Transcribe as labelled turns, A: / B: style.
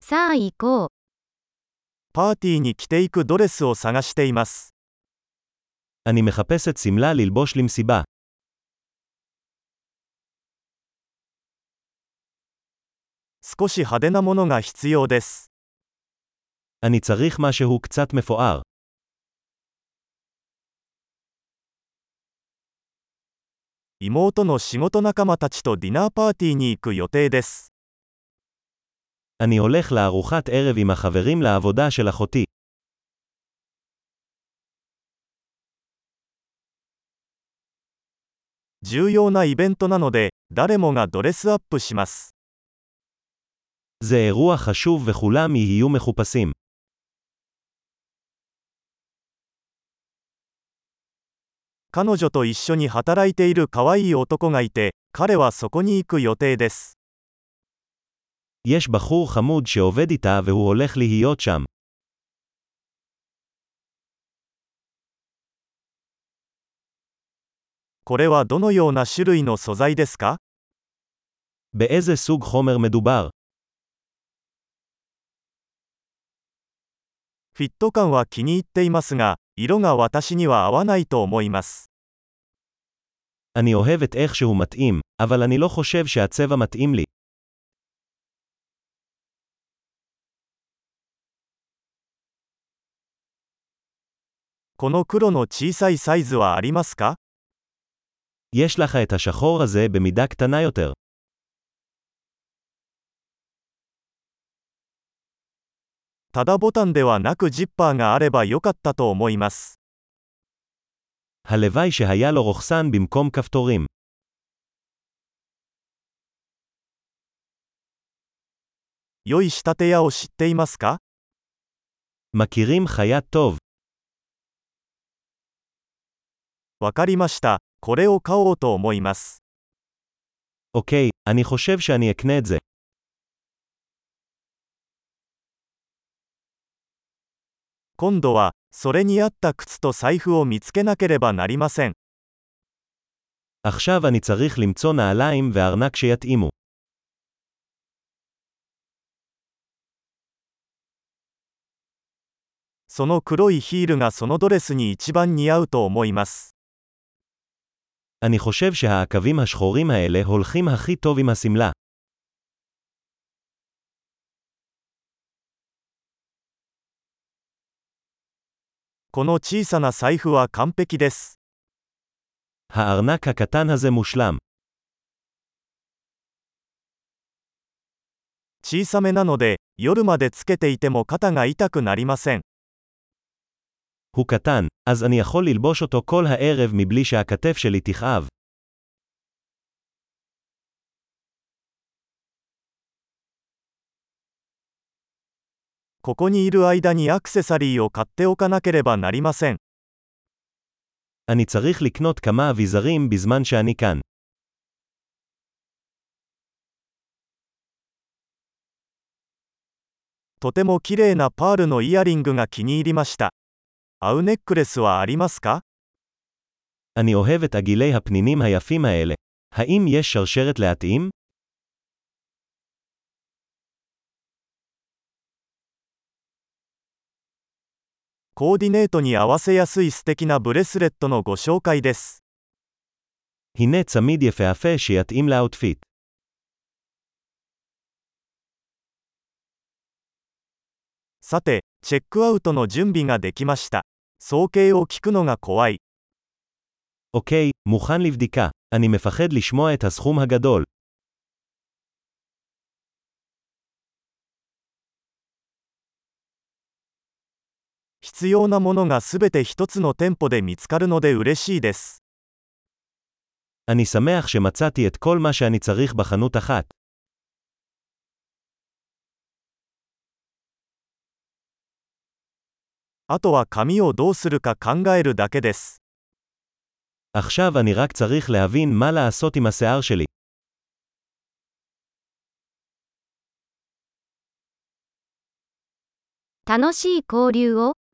A: さあ行こう。
B: パーティーに着ていくドレスを探しています。
C: אני מחפשת סמלה ללבוש למסיבה.
B: 少し派手なものが必要です。
C: אני צריך משהו קצת מפואר.
B: 妹の仕事仲間たちとディナーパーティーに行く予定です。
C: אני הולך לארוחת ערב עם החברים לעבודה של אחותי.
B: 重要なイベントなので、誰もがドレスアップします。
C: זה אירוע חשוב וכולם יהיו מחופשים.
B: 彼女と一緒に働いている可愛い男がいて、彼はそこに行く予定です。
C: יש בחור חמוד שעובד איתה והוא הולך להיות שם.
B: これはどのような種類の素材ですか？
C: באיזה סוג חומר מדובר?
B: フィット感は気に入っていますが、色が私には合わないと思います。
C: אני אוהב את איך שהוא מתאים, אבל אני לא חושב שהצבע מתאים לי.
B: この黒の小さいサイズはありますか？
C: יש לך את השחור הזה במידה קטנה יותר.
B: ただボタンではなくジッパーがあればよかったと思います。
C: הלוואי שהיה לו רוכסן במקום כפתורים.
B: 良い仕立て屋を知っていますか？
C: מכירים חייט טוב.
B: わかりました。これを買おうと思います。
C: אוקיי, אני חושב שאני אקנה את זה.
B: 今度は、それに合った靴と財布を見つけなければなりません。
C: עכשיו אני צריך למצוא נעליים וארנק שיתאימו.
B: その黒いヒールがそのドレスに一番似合うと思います。
C: אני חושב שהעקבים השחורים האלה הולכים הכי טוב עם הסמלה.
B: この小さな財布は完璧です。
C: הארנק הקטן הזה מושלם.
B: 小さめなので、夜までつけていても肩が痛くなりません。
C: הוא קטן, אז אני יכול ללבוש אותו כל הערב מבלי שהכתף שלי תכאב.
B: ここにいる間にアクセサリーを買っておかなければなりません。
C: אני צריך לקנות כמה אביזרים בזמן שאני כאן.
B: とても綺麗なパールのイヤリングが気に入りました。合うネックレスはありますか？
C: אני אוהב את עגילי הפנינים היפים האלה. האם יש שרשרת להתאים?
B: コーディネートに合わせやすい素敵なブレスレットのご紹介です。
C: הנה צמיד יפהפה שיתאים לאוטפיט.
B: さて、チェックアウトの準備ができました。総計を聞くのが怖い。
C: אוקיי, מוכן לבדיקה. אני מפחד לשמוע את הסכום הגדול.
B: 必要なものがすべて一つの店舗で見つかるので嬉しいです。
C: אני שמח שמצאתי את כל מה שאני צריך בחנות אחת.
B: あとは髪をどうするか考えるだけです。
C: עכשיו אני רק צריך להבין מה לעשות עם השיער שלי.
A: 楽しい交流を。